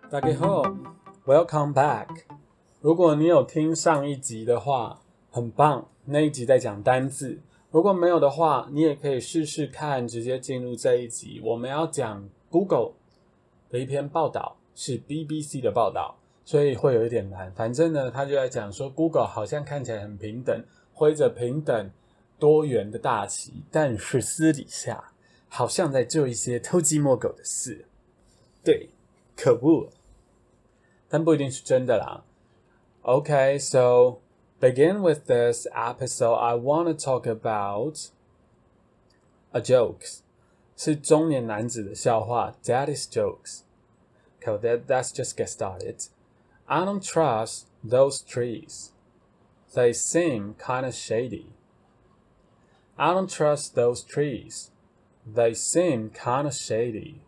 大家好 ，Welcome back。如果你有听上一集的话，很棒，那一集在讲单字。如果没有的话，你也可以试试看，直接进入这一集。我们要讲 Google 的一篇报道，是 BBC 的报道，所以会有一点难。反正呢，他就在讲说 Google 好像看起来很平等，挥着平等多元的大旗，但是私底下好像在做一些偷鸡摸狗的事。对，可恶，但不一定是真的啦。Okay, so begin with this episode, I want to talk about a joke. 是中年男子的笑话 Daddy's jokes. Okay, let's just get started. I don't trust those trees. They seem kind of shady. I don't trust those trees. They seem kind of shady.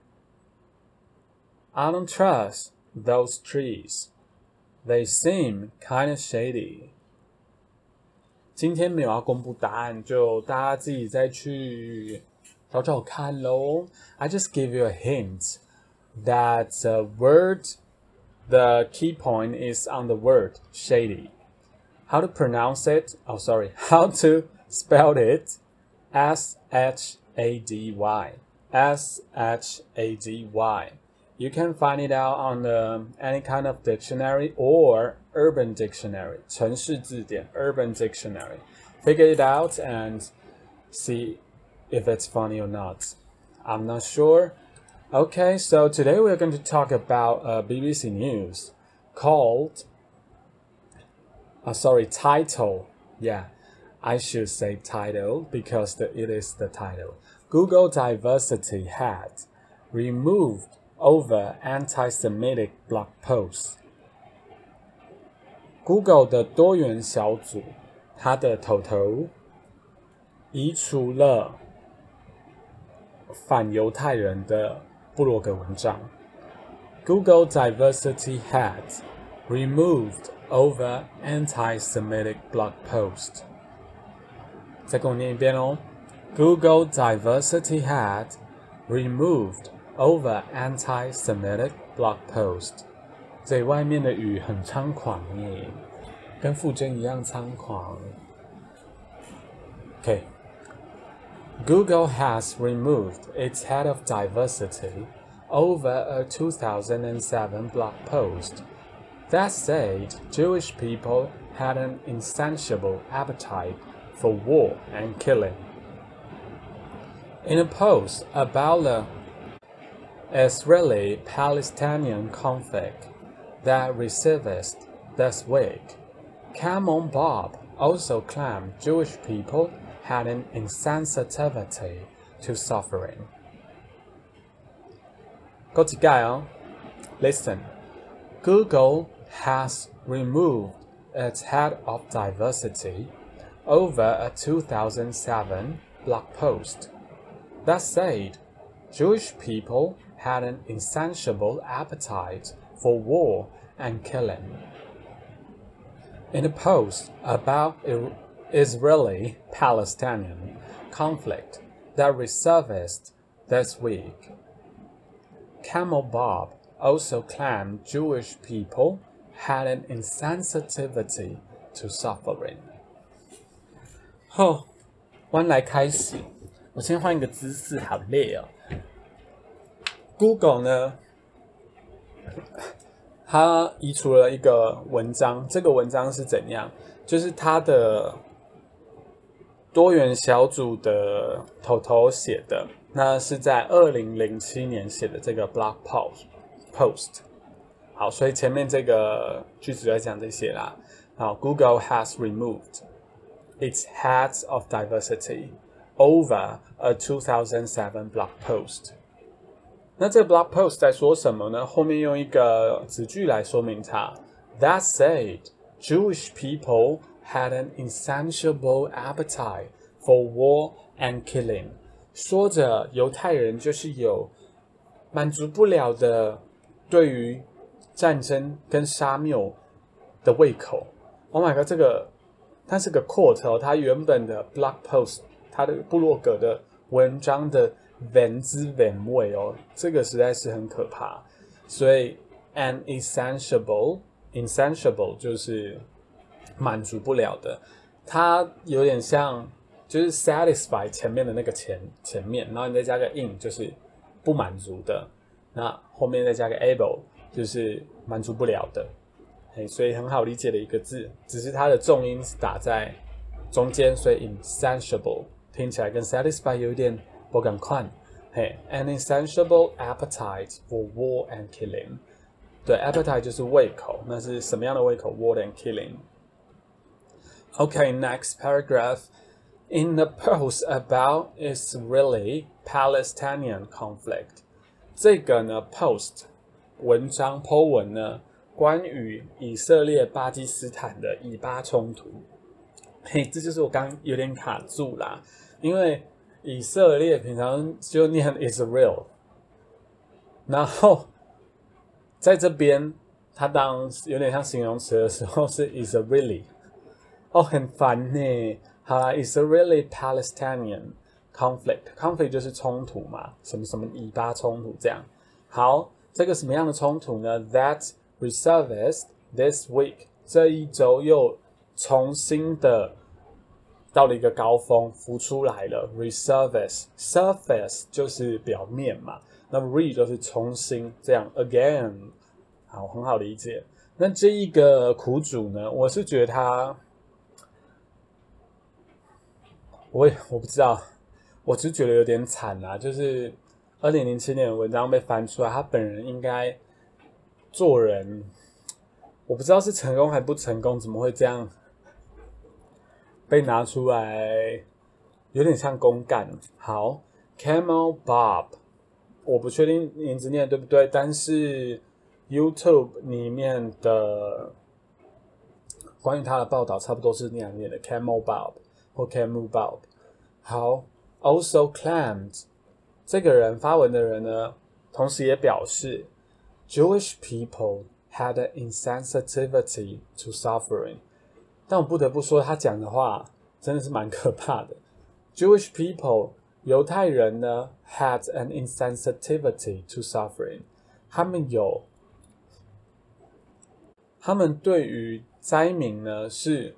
I don't trust those trees. They seem kind of shady. 今天没有要公布答案，就大家自己再去找找看咯。I just give you a hint that the key point is on the word shady. How to pronounce it? Oh, sorry. How to spell it? S-H-A-D-Y. S-H-A-D-Y. You can find it out on any kind of dictionary or urban dictionary. 城市字典 urban dictionary. Figure it out and see if it's funny or not. I'm not sure. Okay, so today we're going to talk about BBC News called title. Yeah, I should say title because it is the title. Google diversity hat removed over anti-Semitic blog posts. Google 的多元小组，它的头移除了反犹太人的部落格文章。Google diversity hat removed over anti-Semitic blog post. 再跟我念一遍哦。Google diversity hat removed over anti-Semitic blog post. 这外面的雨很猖狂耶，跟傅真一样猖狂。Okay. Google has removed its head of diversity over a 2007 blog post that said Jewish people had an insatiable appetite for war and killing. In a post about the Israeli-Palestinian conflict that resurfaced this week, Camel Bob also claimed Jewish people had an insensitivity to suffering. 再一次哦 Listen. Google has removed its head of diversity over a 2007 blog post that said Jewish people had an insatiable appetite for war and killing. In a post about Israeli-Palestinian conflict that resurfaced this week, Camel Bob also claimed Jewish people had an insensitivity to suffering. 弯来开始，我先换一个姿势，好累哦。Google 呢，它移除了一个文章，这个文章是怎样？就是它的多元小组的头写的，那是在2007年写的这个 blog post。好，所以前面这个句子在讲这些啦。好 ，Google has removed its heads of diversity over a 2007 blog post. 那这个 blog post 在说什么呢？后面用一个子句来说明它。That said, Jewish people had an insatiable appetite for war and killing. 说着犹太人就是有满足不了的对于战争跟杀戮的胃口。Oh my god， 它是个 quote 哦，它原本的 blog post， 它的部落格的文章的文之文味哦，这个实在是很可怕。所以 insatiable 就是满足不了的，它有点像就是 satisfy 前面的那个前面，然后你再加个 in 就是不满足的，那后面再加个 able 就是满足不了的，所以很好理解的一个字，只是它的重音是打在中间，所以 insatiable 听起来跟 satisfy 有一点不赶快。An insatiable appetite for war and killing。对 ，appetite 就是胃口，那是什么样的胃口 ？War and killing。Okay, next paragraph. In the post about Israeli Palestinian conflict. 这个呢 ，post 文章 po 文呢，关于以色列巴基斯坦的以巴冲突。这就是我刚有点卡住啦，因为以色列平常就念 Israel， 然后在这边它当有点像形容词的时候是 Israeli， 很烦呢。好啦 ，Israeli Palestinian conflict 就是冲突嘛，什么什么以巴冲突这样。好，这个什么样的冲突呢 ？That resurfaced this week， 这一周又重新的到了一个高峰，浮出来了。Surface 就是表面嘛，那 re 就是重新这样 again， 好，很好理解。那这一个苦主呢，我是觉得他，我不知道，我只是觉得有点惨啊。就是2007年的文章被翻出来，他本人应该做人，我不知道是成功还不成功，怎么会这样？被拿出来有点像公干。好 Camel Bob 我不确定名字念对不对，但是 YouTube 里面的关于他的报道差不多是那样念的 Camel Bob 或 Camel Bob。 好 Also claimed 这个人发文的人呢，同时也表示 Jewish people had an insensitivity to suffering，但我不得不说，他讲的话真的是蛮可怕的。Jewish people， 犹太人呢 had an insensitivity to suffering， 他们对于灾民呢是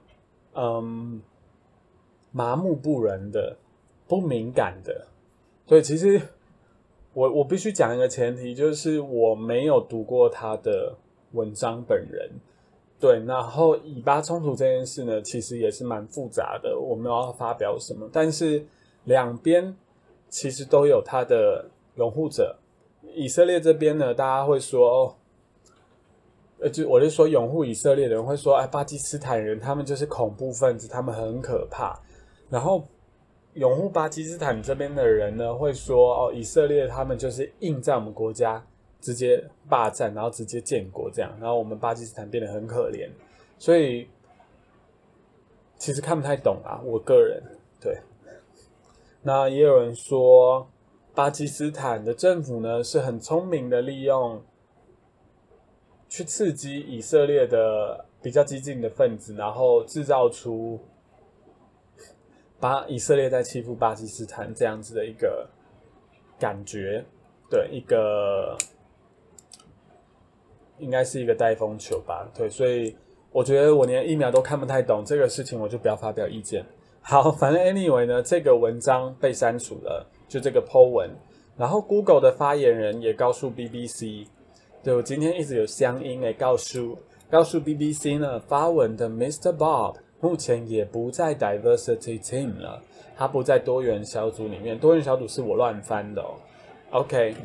麻木不仁的，不敏感的。对，其实我必须讲一个前提，就是我没有读过他的文章本人。对，然后以巴冲突这件事呢，其实也是蛮复杂的，我没有要发表什么，但是两边其实都有他的拥护者。以色列这边呢，大家会说，我就说拥护以色列的人会说，巴基斯坦人他们就是恐怖分子，他们很可怕。然后拥护巴基斯坦这边的人呢，会说，以色列他们就是硬在我们国家直接霸占，然后直接建国这样，然后我们巴基斯坦变得很可怜，所以其实看不太懂啊，我个人。对，那也有人说巴基斯坦的政府呢是很聪明的，利用去刺激以色列的比较激进的分子，然后制造出以色列在欺负巴基斯坦这样子的一个感觉。对，一个应该是一个带风球吧。对，所以我觉得我连疫苗都看不太懂这个事情，我就不要发表意见。好，反正 anyway 呢，这个文章被删除了，就这个 po 文。然后 Google 的发言人也告诉 BBC， 对，我今天一直有乡音告诉 BBC 呢，发文的 Mr. Bob 目前也不在 Diversity Team 了，他不在多元小组里面，多元小组是我乱翻的哦。OK，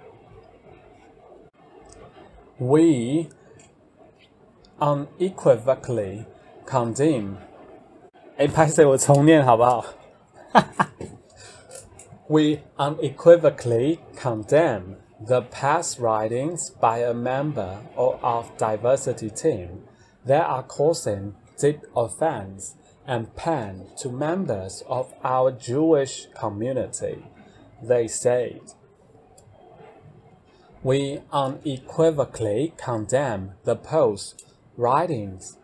We unequivocally condemn。拍谁我重念好不好？We unequivocally condemn the past writings by a member of diversity team that are causing deep offense and pain to members of our Jewish community, they said. We unequivocally condemn the past writings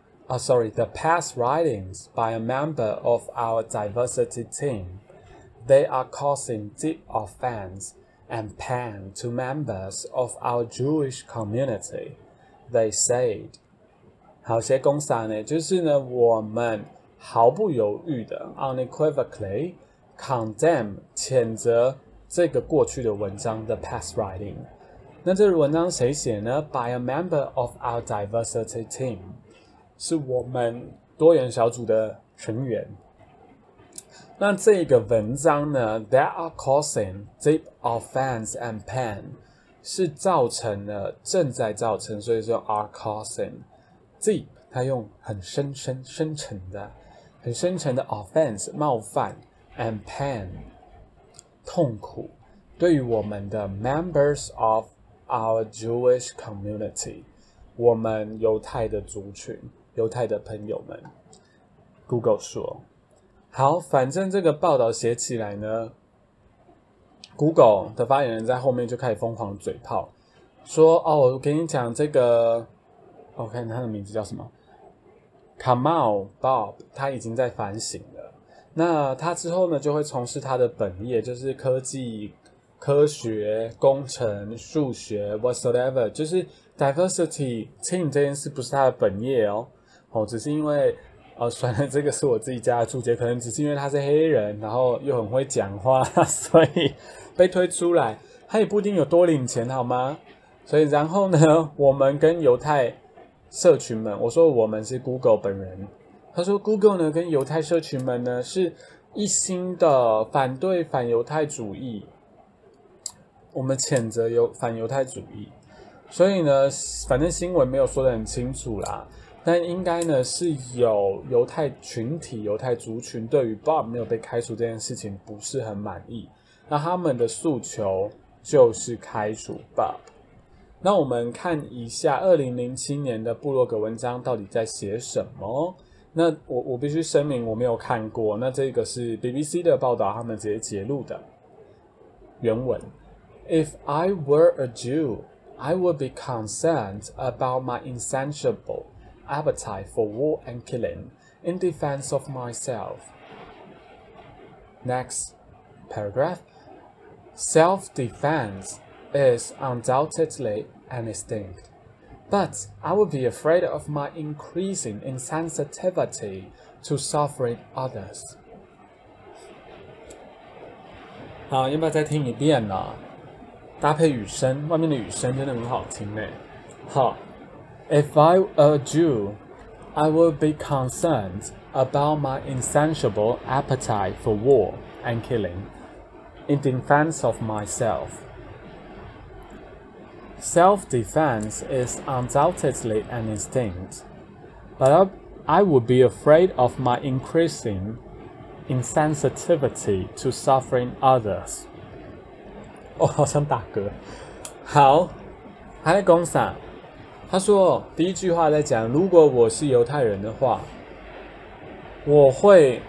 by a member of our diversity team. They are causing deep offense and pan to members of our Jewish community. They said. 好，写公撒呢，就是呢，我们毫不犹豫的 unequivocally condemn 谴责这个过去的文章的 past writing。那这个文章谁写呢 ？By a member of our diversity team， 是我们多元小组的成员。那这个文章呢 ，that are causing deep offense and pain， 是造成了，正在造成，所以说 are causing deep， 它用很深沉的 offense 冒犯 and pain 痛苦，对于我们的 members of our Jewish community， 我们犹太的族群，犹太的朋友们 ，Google 说。好，反正这个报道写起来呢 ，Google 的发言人在后面就开始疯狂嘴炮，说我跟你讲这个，我看他的名字叫什么 ，Kamal Bob， 他已经在反省了。那他之后呢，就会从事他的本业，就是科技、科学、工程、数学 whatsoever， 就是 diversity team 这件事不是他的本业哦，只是因为。算了，这个是我自己加的注解，可能只是因为他是黑人，然后又很会讲话，所以被推出来。他也不一定有多领钱，好吗？所以然后呢，我们跟犹太社群们，我说我们是 Google 本人，他说 Google 呢跟犹太社群们呢是一心的反对反犹太主义，我们谴责反犹太主义。所以呢，反正新闻没有说得很清楚啦。但应该呢是有犹太群体、犹太族群对于 Bob 没有被开除这件事情不是很满意，那他们的诉求就是开除 Bob。那我们看一下2007年的部落格文章到底在写什么。那我必须声明我没有看过，那这个是 BBC 的报道，他们直接截录的原文。If I were a Jew, I would be concerned about my insatiable appetite for war and killing in defense of myself. Next paragraph. Self-defense is undoubtedly an instinct, but I would be afraid of my increasing insensitivity to suffering others. 好，要不要再听一遍呢？搭配雨声，外面的雨声真的很好听诶。好。If I were a Jew, I would be concerned about my insatiable appetite for war and killing in defense of myself. Self-defense is undoubtedly an instinct, but I would be afraid of my increasing insensitivity to suffering others. 好像打嗝。好，他在讲啥？他说第一句话在讲，如果我是犹太人的话，我会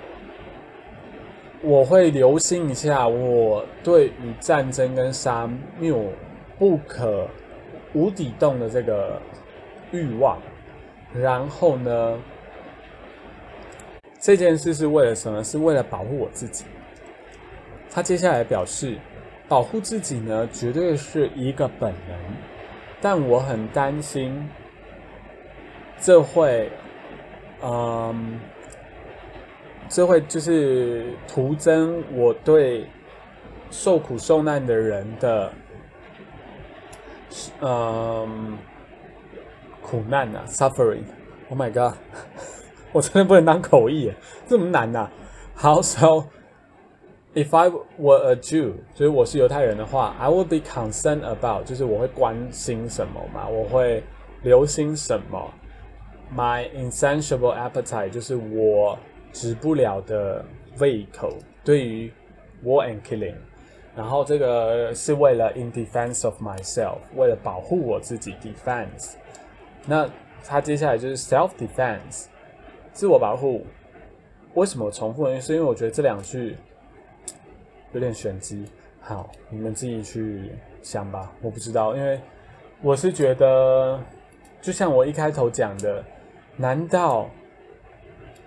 留心一下我对于战争跟杀戮不可无底洞的这个欲望。然后呢，这件事是为了什么？是为了保护我自己。他接下来表示，保护自己呢，绝对是一个本能。但我很担心，这会就是徒增我对受苦受难的人的苦难啊 ，suffering。Oh my god， 我真的不能当口译耶，这么难啊。好 ，so if I were a Jew， 就是我是犹太人的话 ，I would be concerned about， 就是我会关心什么嘛，我会留心什么。My insatiable appetite， 就是我止不了的胃口，对于 war and killing。然后这个是为了 in defense of myself， 为了保护我自己 defense。那他接下来就是 self defense， 自我保护。为什么我重复呢？是因为我觉得这两句有点玄机，好，你们自己去想吧，我不知道，因为我是觉得，就像我一开头讲的，难道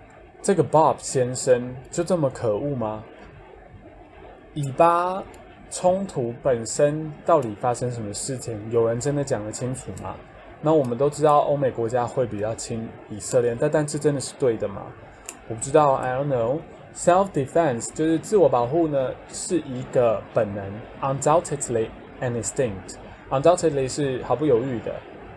这个 Bob 先生就这么可恶吗？以巴冲突本身到底发生什么事情，有人真的讲得清楚吗？那我们都知道欧美国家会比较亲以色列，但这真的是对的吗？我不知道 ，I don't know。Self-defense 就是自我保护呢，是一个本能 ，undoubtedly an instinct。undoubtedly 是毫不犹豫的，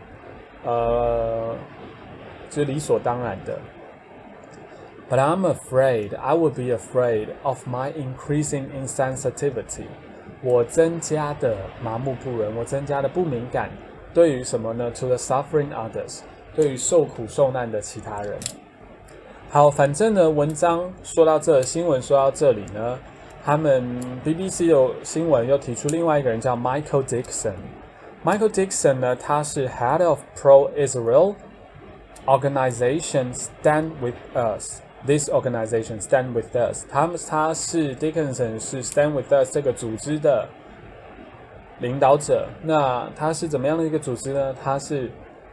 就是理所当然的。But I'm afraid I would be afraid of my increasing insensitivity。我增加的麻木不仁，我增加的不敏感，对于什么呢 ？To the suffering others， 对于受苦受难的其他人。好，反正呢，文章说到这，新闻说到这里呢，他们 BBC 有新闻又提出另外一个人叫 Michael Dixon。Michael Dixon 呢，他是 Head of Pro-Israel Organization Stand With Us。This organization Stand With Us， 他是 Dickinson 是 Stand With Us 这个组织的领导者。那他是怎么样的一个组织呢？他是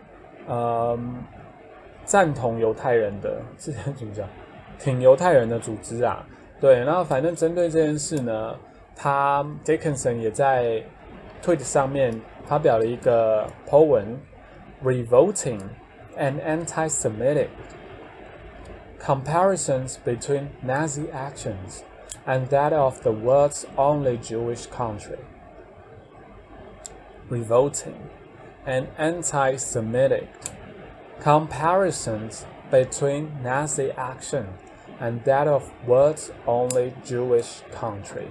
赞同犹太人的，这怎么讲？挺犹太人的组织啊。对，然后反正针对这件事呢，他 Dickinson 也在 Twitter 上面发表了一个 po 文 ，Revolting and anti-Semitic comparisons between Nazi actions and that of the world's only Jewish country. Revolting and anti-Semitic comparisons between Nazi action and that of world's only Jewish country.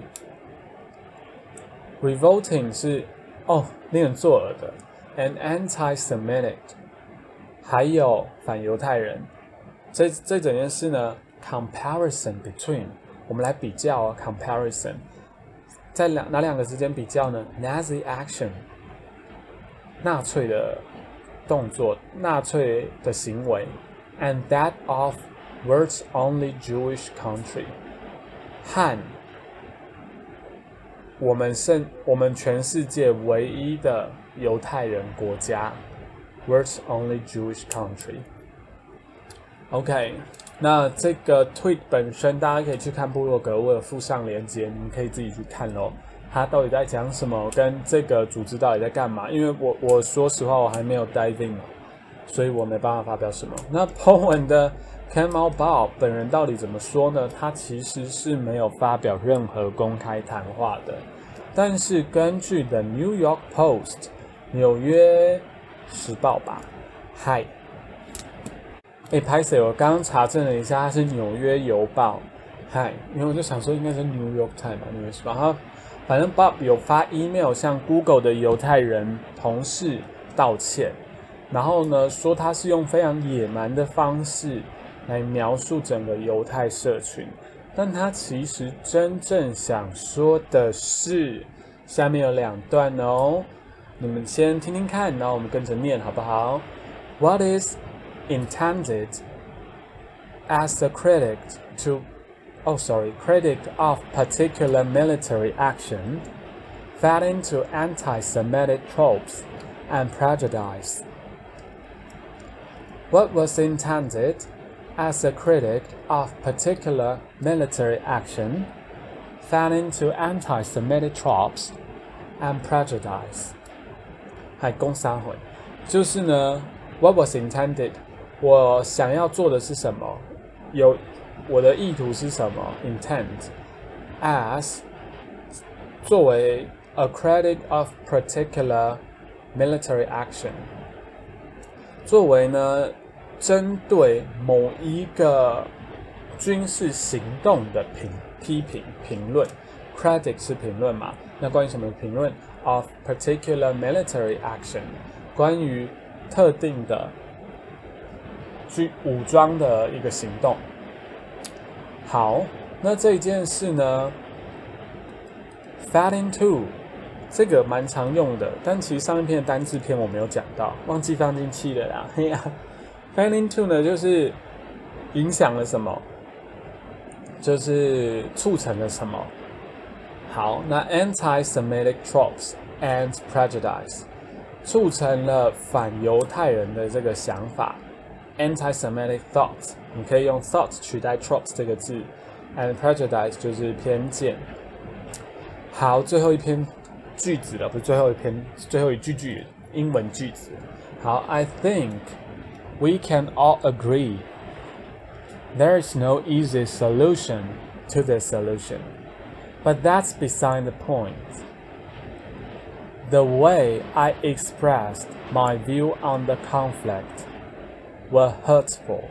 Revolting 是令人作呕的 and anti-Semitic 还有反犹太人。这整件事呢 comparison between 我们来比较啊 comparison 在哪两个之间比较呢 Nazi action 纳粹的动作纳粹的行为 and that of world's only Jewish country 和我们全世界唯一的犹太人国家 world's only Jewish country。OK， 那这个 tweet 本身大家可以去看部落格，我有附上连结，你们可以自己去看咯。他到底在讲什么，跟这个组织到底在干嘛？因为我说实话，我还没有 dive in， 所以我没办法发表什么。那 po 文的 Kamal Bob 本人到底怎么说呢？他其实是没有发表任何公开谈话的，但是根据 The New York Post 纽约时报吧，嗨。拍谁？我刚刚查证了一下，它是纽约邮报。嗨，因为我就想说应该是 New York Times 吧，纽约时报。然后反正 Bob 有发 email 向 Google 的犹太人同事道歉，然后呢说他是用非常野蛮的方式来描述整个犹太社群，但他其实真正想说的是，下面有2段哦，你们先听听看，然后我们跟着念好不好 ？What is intended as a critic of particular military action fed into anti-Semitic tropes and prejudice. What was intended as a critic of particular military action fed into anti-Semitic tropes and prejudice. 还共三回，就是呢 ，What was intended 我想要做的是什么？我的意图是什么 ？Intent as 作为 a critic of particular military action， 作为呢针对某一个军事行动的批评评论 ，critic 是评论嘛？那关于什么评论 ？Of particular military action， 关于特定的武装的一个行动。好，那这一件事呢 ，fed into 这个蛮常用的，但其实上一篇的单字篇我没有讲到，忘记放进去了啦。嘿呀 ，fed into 呢就是影响了什么，就是促成了什么。好，那 anti-Semitic tropes and prejudice 促成了反犹太人的这个想法。Anti-Semitic thoughts， 你可以用 thoughts 取代 tropes 这个字 ，and prejudice 就是偏见。 好，最后一篇句子了，不是最后一句英文句子。好 ，I think we can all agree there is no easy solution to this solution, but that's beside the point. The way I expressed my view on the conflict were hurtful.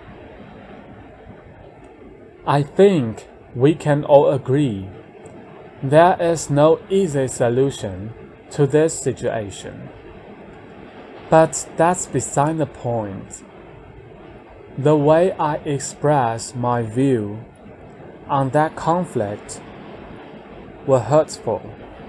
I think we can all agree there is no easy solution to this situation, but that's beside the point. The way I expressed my view on that conflict were hurtful.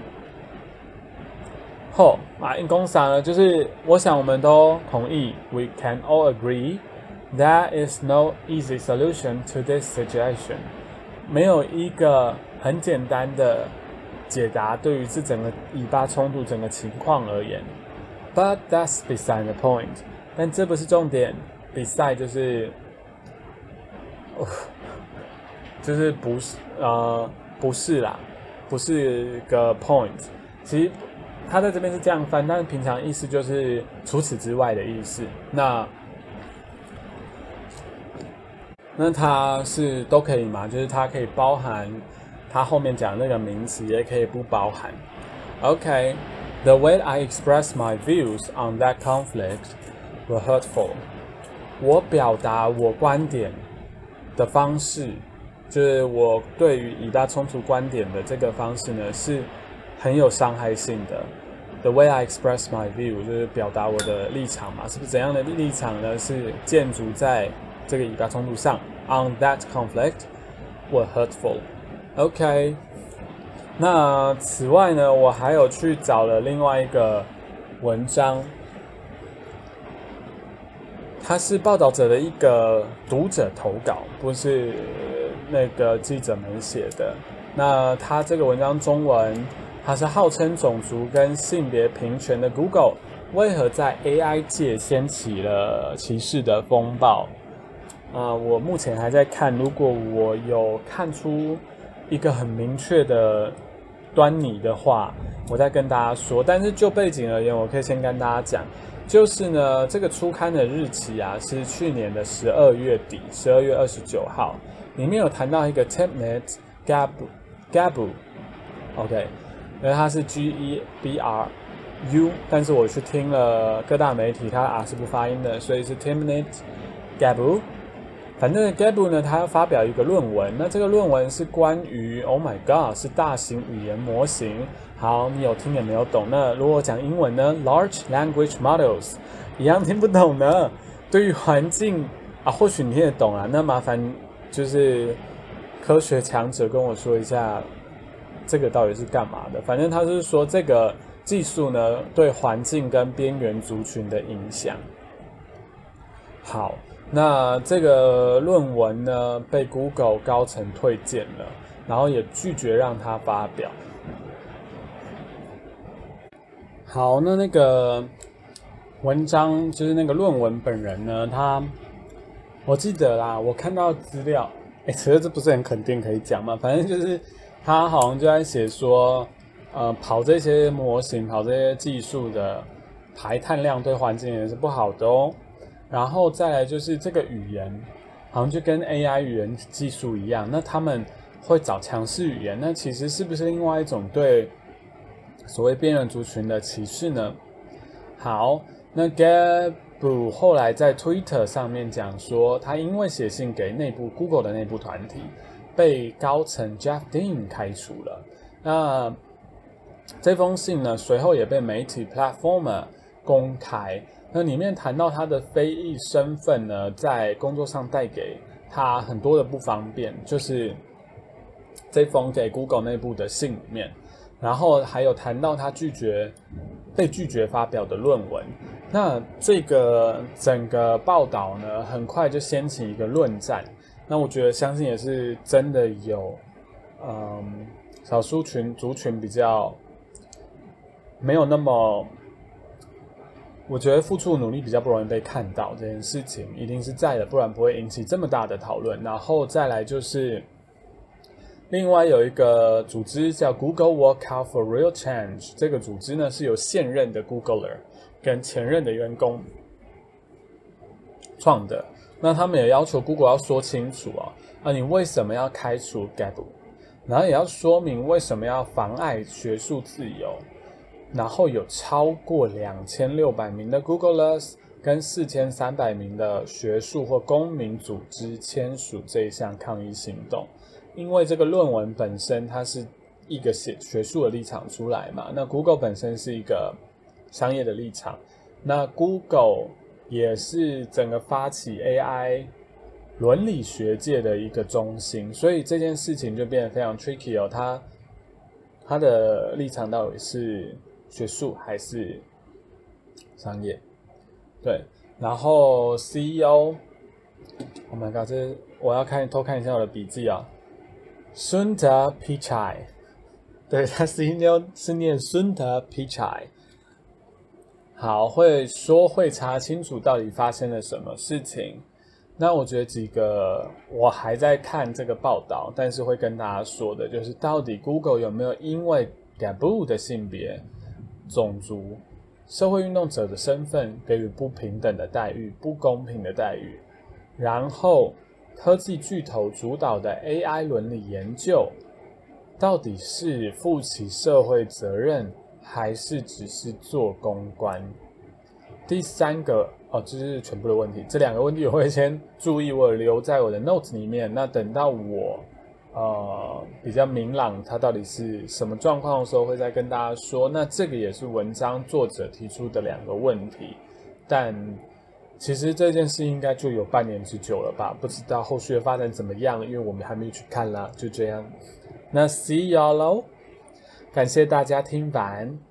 因公啥呢？就是我想我们都同意 ，We can all agree there is no easy solution to this situation. 没有一个很简单的解答对于这整个以巴冲突整个情况而言。But that's beside the point. 但这不是重点。beside 就是不是啦，不是个 point。其实他在这边是这样翻，但是平常意思就是除此之外的意思。那它是都可以嘛？就是它可以包含它后面讲的那个名词，也可以不包含。Okay, the way I express my views on that conflict were hurtful. 我表达我观点的方式，就是我对于以巴冲突观点的这个方式呢，是很有伤害性的。The way I express my view 就是表达我的立场嘛，是不是怎样的立场呢？是建筑在这个以巴冲突上 ，on that conflict were hurtful. OK， 那此外呢，我还有去找了另外一个文章，它是报道者的一个读者投稿，不是那个记者们写的。那他这个文章中文，它是号称种族跟性别平权的 Google 为何在 AI 界掀起了歧视的风暴？我目前还在看，如果我有看出一个很明确的端倪的话，我再跟大家说。但是就背景而言，我可以先跟大家讲，就是呢，这个出刊的日期啊是去年的12月底，12月29号，里面有谈到一个 Timnit Gebru，OK， 因为它是 Gebru， 但是我去听了各大媒体，它 R 是不发音的，所以是 Timnit Gebru。反正 Gebru 呢，他发表一个论文，那这个论文是关于 Oh my God 是大型语言模型。好，你有听也没有懂。那如果讲英文呢 ，Large Language Models 一样听不懂呢。对于环境或许你听得懂啊。那麻烦就是科学强者跟我说一下，这个到底是干嘛的？反正他是说这个技术呢对环境跟边缘族群的影响。好。那这个论文呢，被 Google 高层推荐了，然后也拒绝让他发表。好，那个文章就是那个论文本人呢，我记得啦，我看到资料，其实这不是很肯定可以讲嘛，反正就是他好像就在写说，跑这些模型、跑这些技术的排碳量对环境也是不好的哦。然后再来就是这个语言，好像就跟 AI 语言技术一样，那他们会找强势语言，那其实是不是另外一种对所谓边缘族群的歧视呢？好，那 Gebru 后来在 Twitter 上面讲说，他因为写信给Google 的内部团体，被高层 Jeff Dean 开除了。那这封信呢，随后也被媒体 Platformer 公开。那里面谈到他的非裔身份呢，在工作上带给他很多的不方便，就是这封给 Google 内部的信里面，然后还有谈到他被拒绝发表的论文。那这个整个报道呢，很快就掀起一个论战。那我觉得相信也是真的有，少数族群比较没有那么。我觉得付出努力比较不容易被看到，这件事情一定是在的，不然不会引起这么大的讨论。然后再来就是另外有一个组织叫 Google Workout for Real Change， 这个组织呢是由现任的 Googler 跟前任的员工创的。那他们也要求 Google 要说清楚你为什么要开除 Gaboo， 然后也要说明为什么要妨碍学术自由，然后有超过2600名的 Googlers 跟4300名的学术或公民组织签署这一项抗议行动。因为这个论文本身它是一个学术的立场出来嘛，那 Google 本身是一个商业的立场，那 Google 也是整个发起 AI 伦理学界的一个中心，所以这件事情就变得非常 tricky 它的立场到底是学术还是商业？对，然后 CEO， Oh my god， 我要偷看一下我的笔记Sundar Pichai， 对，他CEO是念 Sundar Pichai。好，会查清楚到底发生了什么事情。那我觉得几个我还在看这个报道，但是会跟大家说的就是，到底 Google 有没有因为 Gaboo 的性别、种族、社会运动者的身份给予不平等的待遇、不公平的待遇，然后科技巨头主导的 AI 伦理研究到底是负起社会责任还是只是做公关？第三个这是全部的问题，这两个问题我会先注意，我留在我的 notes 里面，那等到我比较明朗它到底是什么状况的时候会再跟大家说。那这个也是文章作者提出的两个问题，但其实这件事应该就有半年之久了吧，不知道后续的发展怎么样，因为我们还没有去看啦，就这样。那 see y'all 咯，感谢大家听完。